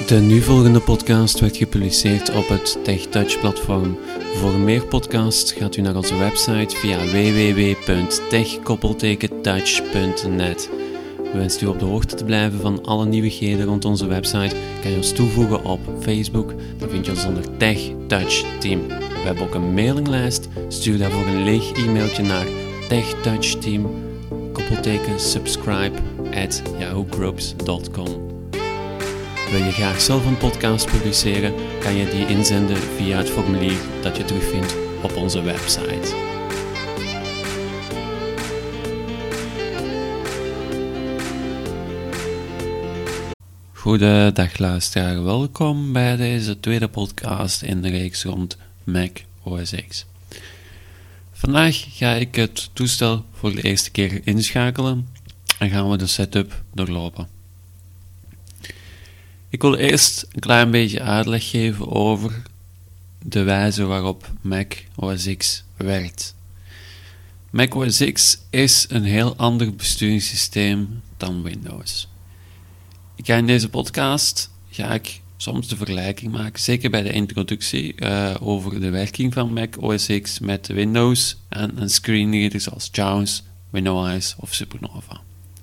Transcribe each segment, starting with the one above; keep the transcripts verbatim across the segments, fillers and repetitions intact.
De nu volgende podcast werd gepubliceerd op het TechTouch platform. Voor meer podcasts gaat u naar onze website via w w w punt tech touch punt net. Wenst u op de hoogte te blijven van alle nieuwigheden rond onze website, kan je ons toevoegen op Facebook. Dan vind je ons onder TechTouch Team. We hebben ook een mailinglijst. Stuur daarvoor een leeg e-mailtje naar techtouchteam subscribe at yahoo groups dot com. Wil je graag zelf een podcast publiceren, kan je die inzenden via het formulier dat je terugvindt op onze website. Goedendag luisteraar, welkom bij deze tweede podcast in de reeks rond Mac O S X. Vandaag ga ik het toestel voor de eerste keer inschakelen en gaan we de setup doorlopen. Ik wil eerst een klein beetje uitleg geven over de wijze waarop Mac O S X werkt. Mac O S X is een heel ander besturingssysteem dan Windows. Ik ga in deze podcast ga ik soms de vergelijking maken, zeker bij de introductie, uh, over de werking van Mac O S X met Windows en een screenreader zoals JAWS, WinOS of Supernova.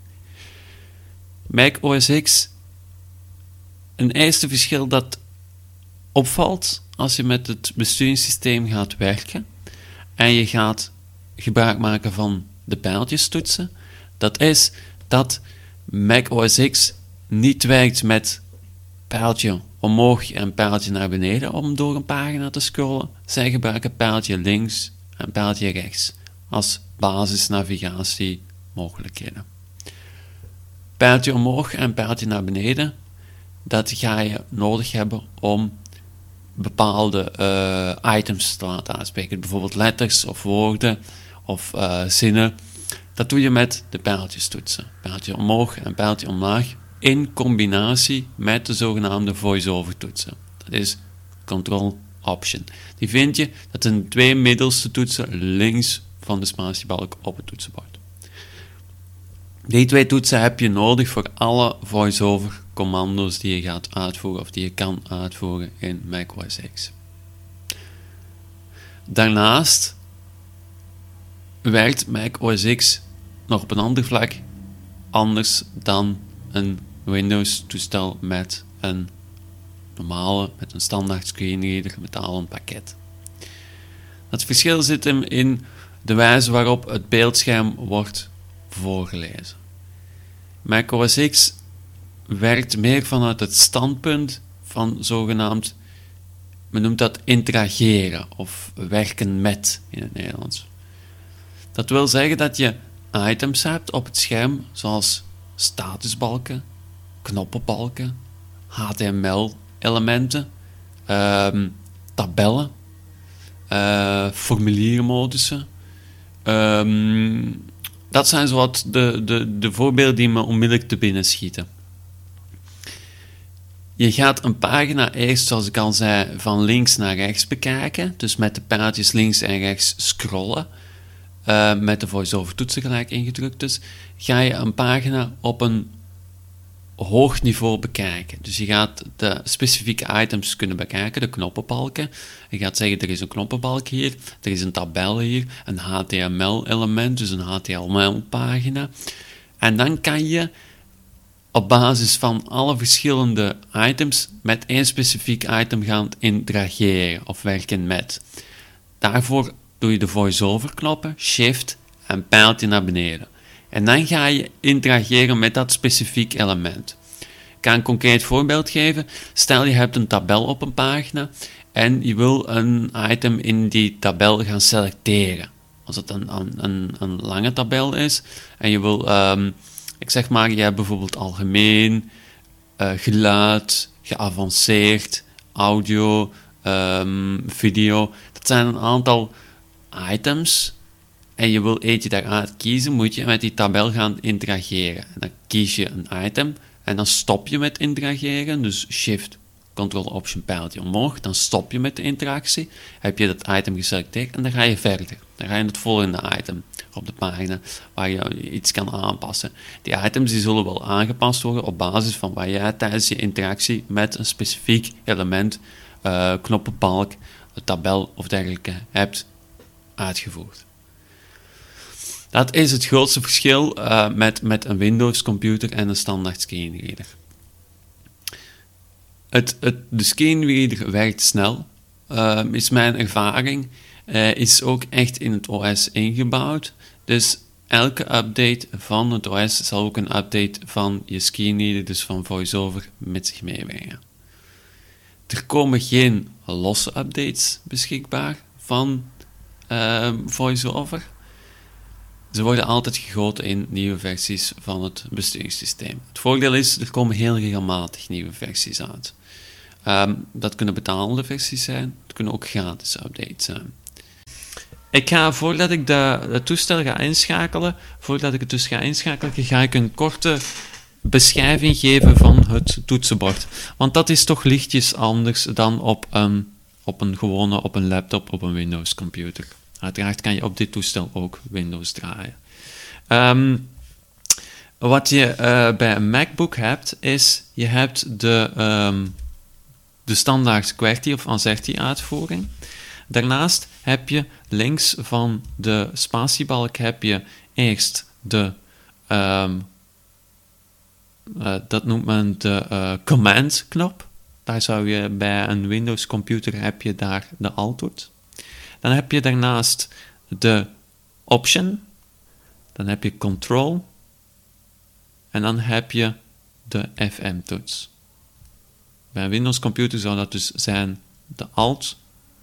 Mac O S X, een eerste verschil dat opvalt als je met het besturingssysteem gaat werken en je gaat gebruik maken van de pijltjestoetsen, dat is dat Mac O S X niet werkt met pijltje omhoog en pijltje naar beneden om door een pagina te scrollen. Zij gebruiken pijltje links en pijltje rechts als basisnavigatie mogelijkheden. Pijltje omhoog en pijltje naar beneden, dat ga je nodig hebben om bepaalde uh, items te laten aanspreken. Bijvoorbeeld letters of woorden of uh, zinnen. Dat doe je met de pijltjestoetsen. Pijltje omhoog en pijltje omlaag in combinatie met de zogenaamde voice-over toetsen. Dat is Control-Option. Die vind je, dat zijn twee middelste toetsen links van de spatiebalk op het toetsenbord. Die twee toetsen heb je nodig voor alle voice-over commando's die je gaat uitvoeren of die je kan uitvoeren in Mac O S X. Daarnaast werkt Mac O S X nog op een ander vlak anders dan een Windows-toestel met een normale, met een standaard screenreader met al een pakket. Het verschil zit hem in de wijze waarop het beeldscherm wordt voorgelezen. Mac O S X werkt meer vanuit het standpunt van zogenaamd, men noemt dat interageren of werken met in het Nederlands. Dat wil zeggen dat je items hebt op het scherm zoals statusbalken, knoppenbalken, H T M L-elementen, um, tabellen, uh, formuliermodussen. Um, dat zijn zowat de, de, de voorbeelden die me onmiddellijk te binnen schieten. Je gaat een pagina eerst, zoals ik al zei, van links naar rechts bekijken. Dus met de pijltjes links en rechts scrollen. Uh, met de voice-over toetsen gelijk ingedrukt. Dus ga je een pagina op een hoog niveau bekijken. Dus je gaat de specifieke items kunnen bekijken, de knoppenbalken. Je gaat zeggen, er is een knoppenbalk hier, er is een tabel hier, een H T M L-element, dus een H T M L-pagina. En dan kan je op basis van alle verschillende items met één specifiek item gaan interageren of werken met. Daarvoor doe je de voice-over knoppen, shift en pijltje naar beneden. En dan ga je interageren met dat specifiek element. Ik kan een concreet voorbeeld geven. Stel je hebt een tabel op een pagina en je wil een item in die tabel gaan selecteren. Als het een, een, een lange tabel is en je wil, um, ik zeg maar, je hebt bijvoorbeeld algemeen, uh, geluid, geavanceerd, audio, um, video. Dat zijn een aantal items en je wil eentje daaruit kiezen, moet je met die tabel gaan interageren. En dan kies je een item en dan stop je met interageren, dus shift, control, option, pijltje omhoog, dan stop je met de interactie, heb je dat item geselecteerd en dan ga je verder. Dan ga je het volgende item op de pagina waar je iets kan aanpassen. Die items die zullen wel aangepast worden op basis van wat jij tijdens je interactie met een specifiek element, uh, knoppenbalk, een tabel of dergelijke hebt uitgevoerd. Dat is het grootste verschil uh, met, met een Windows-computer en een standaard screenreader. Het, het, de screenreader werkt snel, uh, is mijn ervaring. Uh, is ook echt in het O S ingebouwd. Dus elke update van het O S zal ook een update van je screenreader, dus van VoiceOver, met zich meebrengen. Er komen geen losse updates beschikbaar van uh, VoiceOver. Ze worden altijd gegoten in nieuwe versies van het besturingssysteem. Het voordeel is, er komen heel regelmatig nieuwe versies uit. Um, dat kunnen betalende versies zijn, het kunnen ook gratis updates zijn. Ik ga, voordat ik de, het toestel ga inschakelen, voordat ik het dus ga inschakelen, ga ik een korte beschrijving geven van het toetsenbord. Want dat is toch lichtjes anders dan op een, op een gewone, op een laptop, op een Windows computer. Uiteraard kan je op dit toestel ook Windows draaien. Um, wat je uh, bij een MacBook hebt, is je hebt de, um, de standaard QWERTY of AZERTY uitvoering. Daarnaast heb je links van de spatiebalk heb je eerst de, um, uh, dat noemt men de uh, command knop. Daar zou je bij een Windows computer heb je daar de Alt-toets. Dan heb je daarnaast de Option, dan heb je Control en dan heb je de F M-toets. Bij een Windows computer zou dat dus zijn de Alt,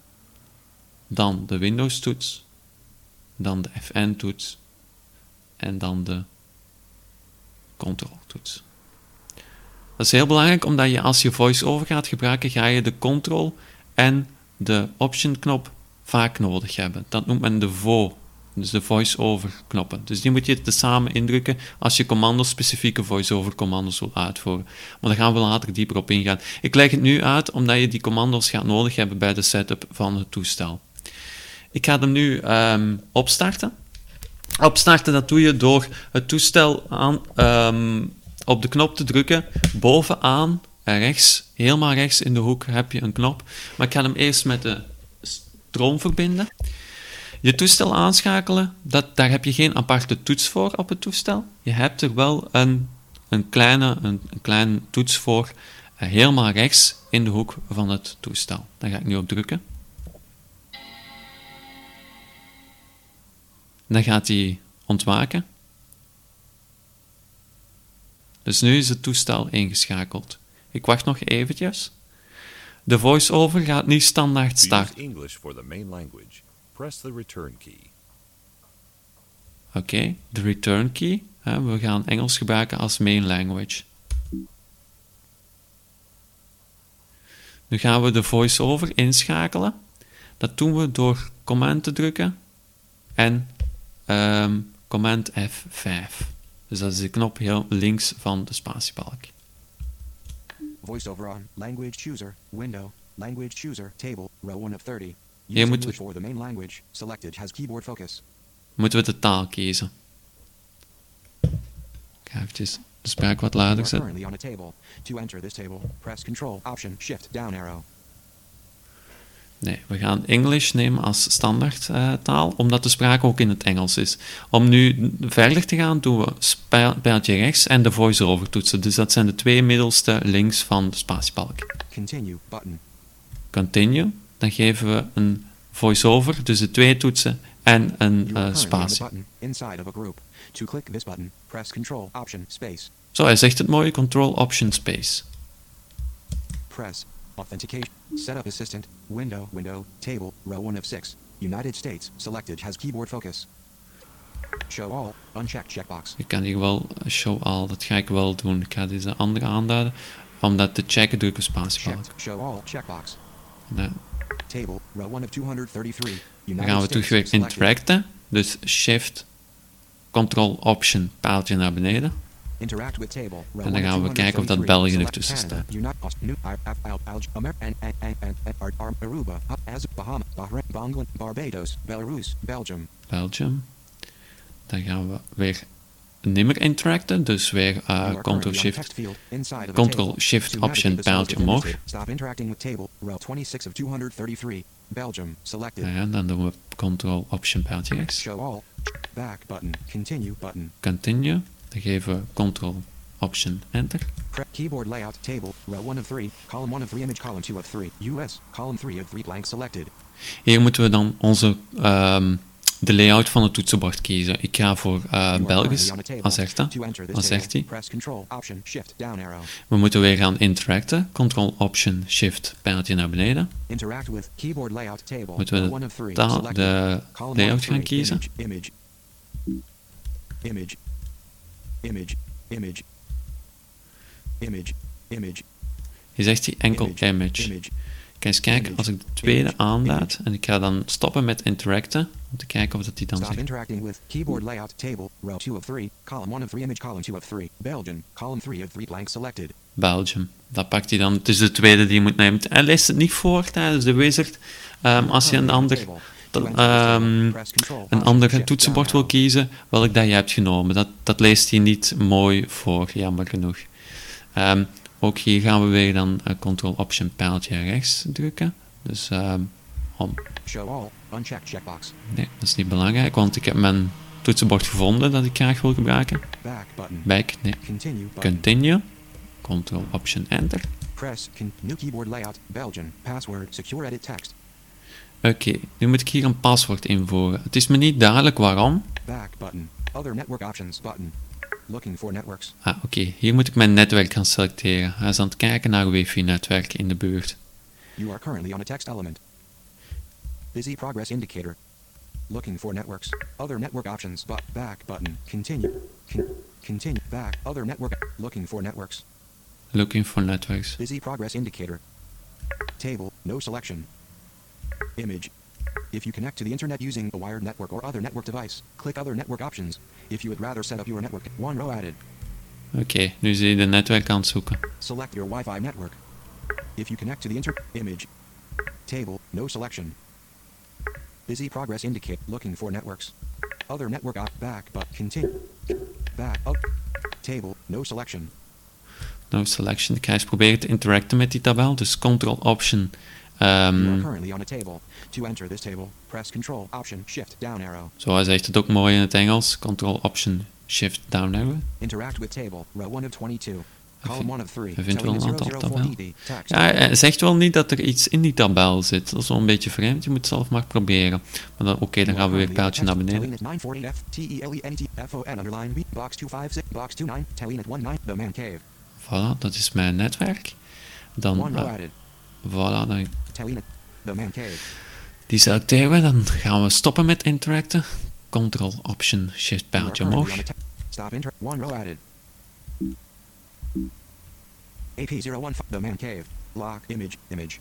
dan de Windows-toets, dan de F N-toets en dan de Control-toets. Dat is heel belangrijk, omdat je als je VoiceOver gaat gebruiken, ga je de Control en de Option-knop vaak nodig hebben. Dat noemt men de V O, dus de voice-over knoppen. Dus die moet je tezamen indrukken als je commando's, specifieke voice-over commando's wil uitvoeren. Maar daar gaan we later dieper op ingaan. Ik leg het nu uit omdat je die commando's gaat nodig hebben bij de setup van het toestel. Ik ga hem nu um, opstarten. Opstarten, dat doe je door het toestel aan, um, op de knop te drukken. Bovenaan, rechts, helemaal rechts in de hoek heb je een knop. Maar ik ga hem eerst met de stroom verbinden. Je toestel aanschakelen, dat, daar heb je geen aparte toets voor op het toestel. Je hebt er wel een, een, kleine, een, een kleine toets voor, uh, helemaal rechts in de hoek van het toestel. Daar ga ik nu op drukken. Dan gaat hij ontwaken. Dus nu is het toestel ingeschakeld. Ik wacht nog eventjes. De voice-over gaat nu standaard starten. English for the main language. Press the return key. Oké, okay, de return key. Hè, we gaan Engels gebruiken als main language. Nu gaan we de voice-over inschakelen. Dat doen we door command te drukken en um, command F vijf. Dus dat is de knop heel links van de spatiebalk. VoiceOver on. Language chooser. Window. Language chooser. Table. Row one of thirty. Hier Use moeten English for the main language. Selected has keyboard focus. Moeten we de taal kiezen. Ik ga eventjes de spraak wat lager You are zetten. currently on a table. To enter this table, press Control Option Shift down arrow. Nee, we gaan English nemen als standaard uh, taal, omdat de spraak ook in het Engels is. Om nu verder te gaan, doen we pijltje rechts en de voice-over toetsen. Dus dat zijn de twee middelste links van de spatiebalk. Continue button. Continue. Dan geven we een voice-over, dus de twee toetsen en een You are uh, currently on spatie. the button inside of a group. To click this button, press Control Option Space. Zo, hij zegt het mooi, Control Option Space. Press Authentication. Setup Assistant. Window. Window. Table. Row one of six. United States. Selected has keyboard focus. Show all. Unchecked checkbox. Je kan hier wel show all, dat ga ik wel doen. Ik ga deze andere aanduiden. Om dat te checken doe ik een spatiebalk. Checked. Show all. Checkbox. Nee. Table. Row one of two hundred thirty-three. Dan United gaan we States. terug weer Selected. interacten. Dus Shift, Control Option, paaltje naar beneden. Interact with table. Row En dan one gaan of we kijken of dat België Select ertussen Canada, staat. United Aust- New- Ar- Ar- Ar- Ar- Amer- and- and- and- and- and- Ar- Aruba, Az- Bahamas, Bahrain, Bangladesh, Barbados, Belarus, Belgium. Belgium. Dan gaan we weer niet meer interacten, dus weer uh, You are currently on a Ctrl-Shift, text field inside of a Ctrl-Shift table. To Option navigate the cells pijltje within this omhoog. table, stop interacting with table. Row twenty-six of two hundred thirty-three. Belgium. Selected. Ja, dan doen we Ctrl-Option pijltje rechts. Show all. Back button. Continue button. Continue. Dan geven we Ctrl-Option Enter. Pre- keyboard layout table. Row one of three. Column one of three. Image column two of three. U S. Column three of three. Blank selected. Hier moeten we dan onze, um, de layout van het toetsenbord kiezen. Ik ga voor uh, Belgisch. Wat zegt dat? To enter this Wat zegt table, hij? press Control Option Shift down arrow. We moeten weer gaan interacten. Ctrl-Option Shift pijltje naar beneden. Interact with keyboard layout table. Moeten we Row de, one of three. taal, Selected. de Column one layout of gaan three. kiezen. Image. Image. Image. Image. Image. Image. Hier zegt hij enkel Image. image. Image. Ik ga eens kijken als ik de tweede Image. aanlaat. En ik ga dan stoppen met interacten. Om te kijken of dat die dan Stop zegt. interacting with keyboard layout table. Row two of three. Column one of three. Image column two of three. Belgium. Column three of three. Blank selected. Belgium. Dat pakt hij dan. Het is de tweede die je moet nemen. Hij leest het niet voor tijdens de wizard. Um, als je een ander, dan, um, een ander toetsenbord wil kiezen, welk dat je hebt genomen. Dat, dat leest hij niet mooi voor, jammer genoeg. Um, ook hier gaan we weer dan uh, Ctrl-Option pijltje rechts drukken. Dus um, om. Show all. Unchecked checkbox. Nee, dat is niet belangrijk, want ik heb mijn toetsenbord gevonden dat ik graag wil gebruiken. Back button. Back, nee. Continue button. Continue. Ctrl-Option Enter. Press con- new keyboard layout. Belgium. Password. Secure edit text. Oké, okay, nu moet ik hier een paswoord invoeren. Het is me niet duidelijk waarom. Back button. Other network options button. Looking for networks. Ah, oké. Okay. Hier moet ik mijn netwerk gaan selecteren. Hij is aan het kijken naar wifi-netwerk in de buurt. You are currently on a text element. Busy progress indicator. Looking for networks. Other network options. But back button. Continue. Con- continue. Back. Other network. Looking for networks. Looking for networks. Busy progress indicator. Table. No selection. Image. If you connect to the internet using a wired network or other network device, click other network options. If you would rather set up your network, one row added. Oké, okay, nu zie je de netwerk aan het zoeken. Select your Wi-Fi network. If you connect to the inter image. Table. No selection. Busy progress indicate. Looking for networks. Other network op back but continue. Back up. Table. No selection. No selection. Ik ga eens proberen te interacten met die tabel. Dus Ctrl-Option. Um, you are currently on a table. To enter this table, press Control Option Shift down arrow. Zo, hij zegt het ook mooi in het Engels. Ctrl-Option Shift down arrow. Interact with table. Row one of twenty-two. Column one of three. Hij vindt wel een aantal tabel. Text. Ja, hij zegt wel niet dat er iets in die tabel zit. Dat is wel een beetje vreemd. Je moet het zelf maar proberen. Maar dan, oké, okay, dan gaan we weer een pijltje naar beneden. nine forty F T E L E N T F O N underline B box two five six box two nine Telenet one nine The Man Cave. Voilà, dat is mijn netwerk. Dan, One row uh, added. voilà, dan Telenet The Man Cave. die selecteren we. Dan gaan we stoppen met interacten. Ctrl-Option Shift pijltje omhoog. Stop inter one row added. A P zero one The Man Cave. Lock image image.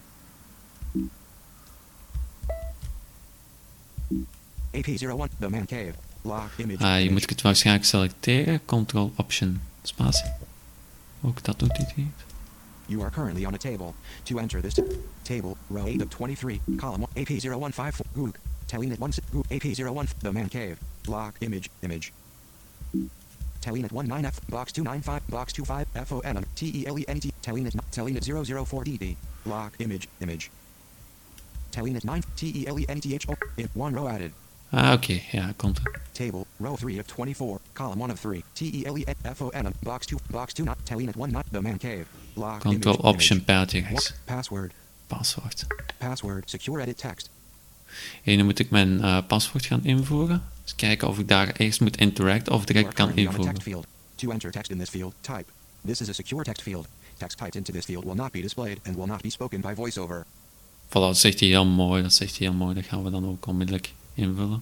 A P zero one The Man Cave. Lock image. Ah, hier image. moet ik het waarschijnlijk selecteren. Ctrl-Option spatie. Ook dat doet hij niet. You are currently on a table. To enter this t- table, row eight of twenty-three, column one, A P zero one five four, Goog, Telenet one six, Goog, A P zero one, The Man Cave, lock image image. Telenet one nine F, box two nine five, box two five, F O N, T E L E N T, Telenet, Telenet zero zero four D D, lock image image. Telenet nine, T E L E N T H O, if one row added. Ah, oké. Okay. Ja, komt er. Table, row three of twenty-four, column one of three, T E L E N F O N, box two, box two, not Telenet one not The Man Cave, lock image Ctrl-Option image. pijltje rechts. What? Password. Paswoord. Password. Secure edit text. En nu moet ik mijn uh, paswoord gaan invoeren. Dus kijken of ik daar eerst moet interacten of direct kan invoeren. To enter text in this field, type. This is a secure text field. Text typed into this field will not be displayed and will not be spoken by voiceover. Voilà, dat zegt hij heel mooi. Dat zegt hij heel mooi. Dat gaan we dan ook onmiddellijk invullen.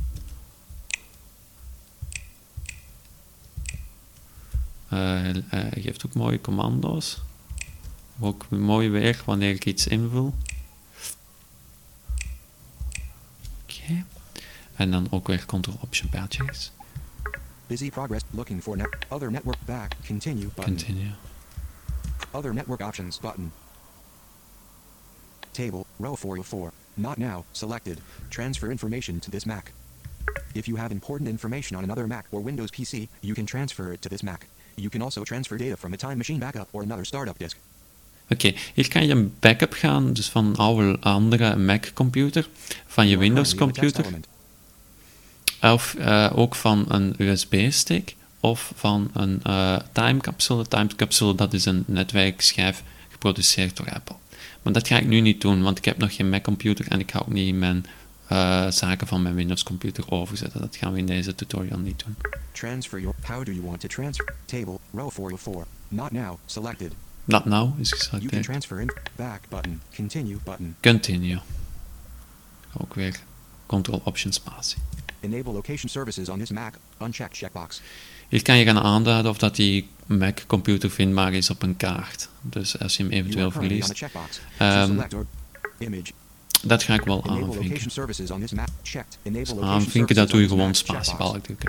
Uh, uh, hij geeft ook mooie commando's. Ook mooi weer wanneer ik iets invul. Oké. Okay. En dan ook weer Ctrl-Option pijltje rechts. Busy progress. Looking for net. Other network. Back. Continue button. Continue. Other network options button. Table. Row four of four. Not now. Selected. Transfer information to this Mac. If you have important information on another Mac or Windows P C, you can transfer it to this Mac. You can also transfer data from a Time Machine backup or another startup disk. Oké, okay, hier kan je een backup gaan, dus van een oude andere Mac-computer, van je Windows-computer, of uh, ook van een U S B-stick, of van een uh, timecapsule. Timecapsule, dat is een netwerkschijf geproduceerd door Apple. Maar dat ga ik nu niet doen, want ik heb nog geen Mac-computer en ik ga ook niet mijn uh, zaken van mijn Windows-computer overzetten. Dat gaan we in deze tutorial niet doen. Transfer your... How do you want to transfer? Table, row four of four. Not now, selected. Not now is You can geselecteerd. transfer in... Back button. Continue button. Continue. Ook weer Ctrl-Option-spatie. Enable location services on this Mac. Uncheck checkbox. Hier kan je gaan aanduiden of dat die Mac-computer vindbaar is op een kaart. Dus als je hem eventueel verliest. Um, dat ga ik wel aanvinken. Dus aanvinken, dat doe je gewoon spatiebalk drukken.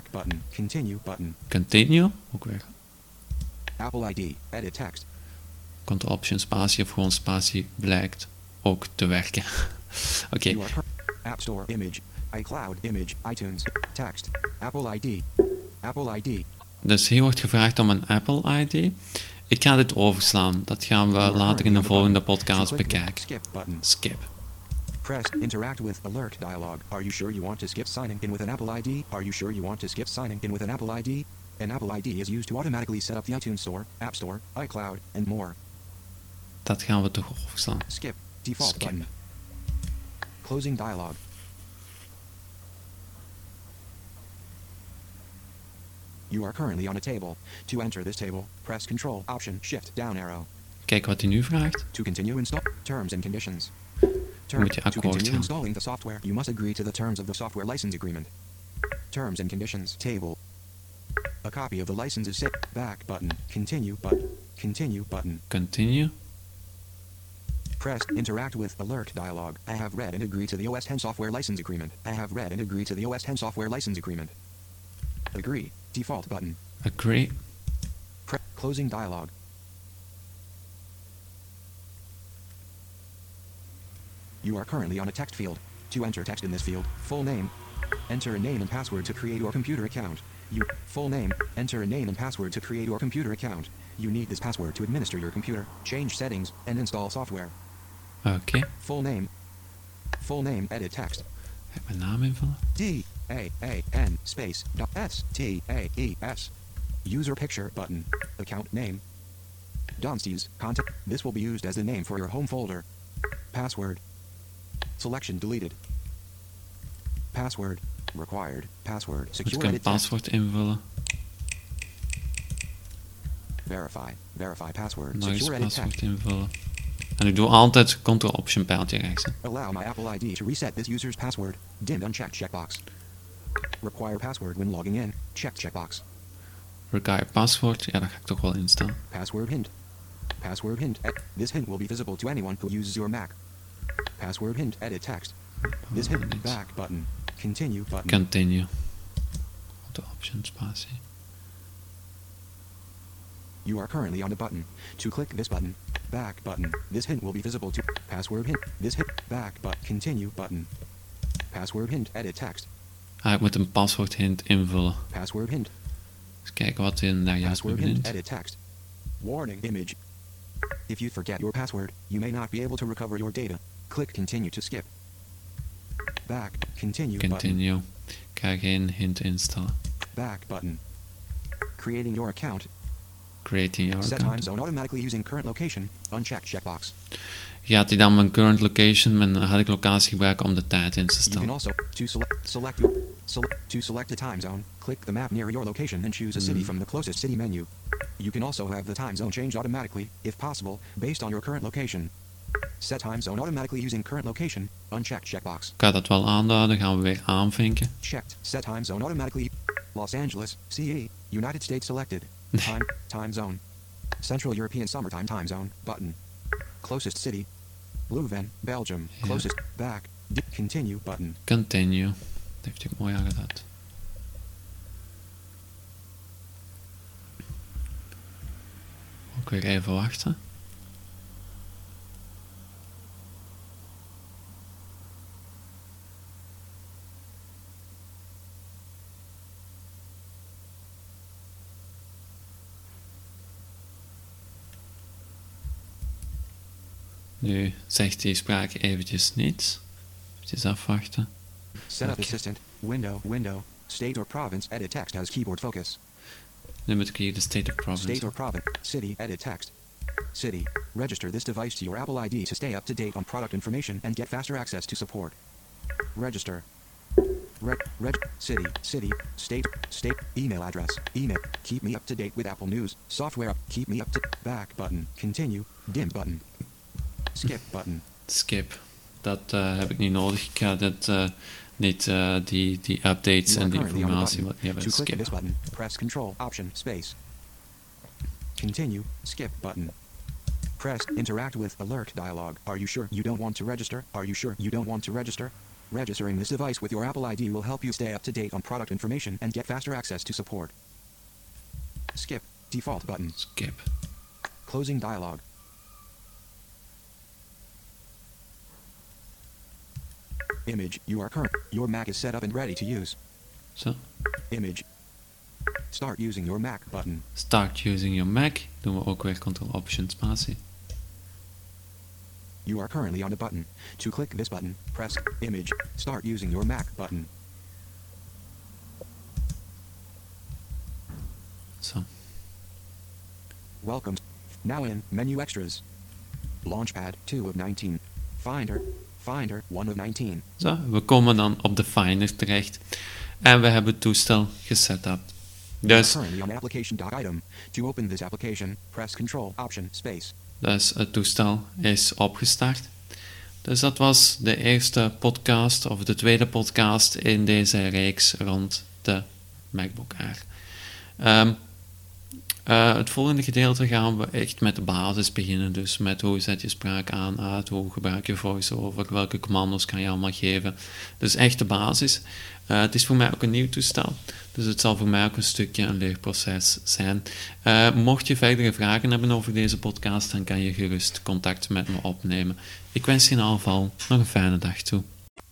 Continue, ook weer. Apple I D, edit text. Ctrl-Option spatie of gewoon spatie blijkt ook te werken. Oké. Okay. App Store, image, iCloud, image, iTunes, text, Apple I D, Apple I D. Dus hier wordt gevraagd om een Apple I D. Ik ga dit overslaan. Dat gaan we later in de volgende podcast bekijken. Skip button. Skip. Press interact with alert dialog. Are you sure you want to skip signing in with an Apple I D? Are you sure you want to skip signing in with an Apple I D? An Apple I D is used to automatically set up the iTunes Store, App Store, iCloud, and more. Dat gaan we toch overslaan. Skip. Default Skip. button. Closing dialog. You are currently on a table. To enter this table, press Control, Option, Shift, down arrow. Kijk wat hij nu vraagt. To continue install terms and conditions. Term, Moet je to akkoord continue gaan. installing the software, you must agree to the terms of the software license agreement. Terms and conditions table. A copy of the license is set. Back button. Continue button. Continue button. Continue. Press interact with alert dialog. I have read and agree to the O S ten software license agreement. I have read and agree to the O S ten software license agreement. Agree. Default button. Agree. Pre- closing dialog. You are currently on a text field. To enter text in this field, full name. Enter a name and password to create your computer account. You full name. Enter a name and password to create your computer account. You need this password to administer your computer, change settings, and install software. Oké. Okay. Full name. Full name. Edit text. Ga ik mijn naam invullen? D A A N space dot S T A E S. User picture button. Account name. Donstees contact. This will be used as the name for your home folder. Password. Selection deleted. Password. Required. Password. Moet Secure ik een edit text. paswoord invullen? Verify. Verify password. Nog eens Secure edit text. paswoord invullen. En ik doe altijd Ctrl-Option pijltje rechts. Hè. Allow my Apple I D to reset this user's password. Dimmed unchecked checkbox. Require password when logging in. Checked checkbox. Require password. Ja, daar ga ik toch wel in staan. Password hint. Password hint. E- This hint will be visible to anyone who uses your Mac. Password hint. Edit text. This hint. Back button. Continue button. Continue. Ctrl-Option spatie. You are currently on the button. To click this button. Back button. This hint will be visible to password hint. This hint. Back but continue button. Password hint. Edit text. Ah, ik moet een paswoord hint invullen. Password hint. Eens kijken wat in daar juist Password hint. bevindt. Edit text. Warning image. If you forget your password, you may not be able to recover your data. Click continue to skip. Back. Continue button. Continue. Ik ga geen hint instellen. Back button. Creating your account. Creating your Set time account. zone automatically using current location. Unchecked checkbox. Gaat hij dan mijn current location, mijn huidige locatie gebruiken om de tijd in te You can stellen? also to select select your select to select the time zone. Click the map near your location and choose a city from the closest city menu. You can also have the time zone changed automatically, if possible, based on your current location. Set time zone automatically using current location. Unchecked checkbox. Ik ga dat wel aanduiden, gaan we weer aanvinken. Checked. Set time zone automatically. Los Angeles, C E, United States selected. Time time zone. Central European Summertime time zone button. Closest city. Leuven, Belgium. Ja. Closest back. D- continue button. Continue. Dat heeft hij mooi aangeduid. Ook weer even wachten. Nu zegt die spraak eventjes niets. Eventjes afwachten. Setup Okay. assistant. Window. Window. State or province. Edit text as keyboard focus. Nu moet ik hier de state of province. State or province. City. Edit text. City. Register this device to your Apple I D to stay up to date on product information and get faster access to support. Register. Reg. Reg. City. City. State. State. Email address. Email. Keep me up to date with Apple News. Software. Keep me up to back button. Continue. Dim button. Skip button. Skip. Dat uh, heb ik niet nodig. Ik ga dit, uh, niet uh, die, die updates You en are die currently on the informatie button. wat je hebt To click skip. this button, press Control Option Space. Continue. Skip button. Press Interact with Alert dialog. Are you sure you don't want to register? Are you sure you don't want to register? Registering this device with your Apple I D will help you stay up to date on product information and get faster access to support. Skip. Default button. Skip. Closing dialog. Image. You are current. Your Mac is set up and ready to use. Zo. Image. Start using your Mac button. Start using your Mac. Doen we ook weer Ctrl-Option spatie. You are currently on the button. To click this button, press Image. Start using your Mac button. Zo. Welcome. Now in Menu Extras. Launchpad two of nineteen. Finder. Finder one of nineteen. Zo, we komen dan op de Finder terecht. En we hebben het toestel gesetupt. You are Dus, currently on application doc item. To open this application, press Control Option Space. dus het toestel is opgestart. Dus dat was de eerste podcast, of de tweede podcast in deze reeks rond de MacBook Air. Ehm, uh, het volgende gedeelte gaan we echt met de basis beginnen. Dus met hoe zet je spraak aan, uit, hoe gebruik je voice-over, welke commando's kan je allemaal geven. Dus echt de basis. Uh, het is voor mij ook een nieuw toestel. Dus het zal voor mij ook een stukje een leerproces zijn. Uh, mocht je verdere vragen hebben over deze podcast, dan kan je gerust contact met me opnemen. Ik wens je in ieder geval nog een fijne dag toe.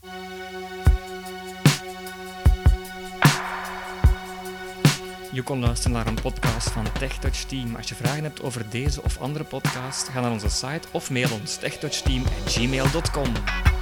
Je kon luisteren naar een podcast van TechTouch Team. Als je vragen hebt over deze of andere podcast, ga naar onze site of mail ons techtouchteam at gmail dot com.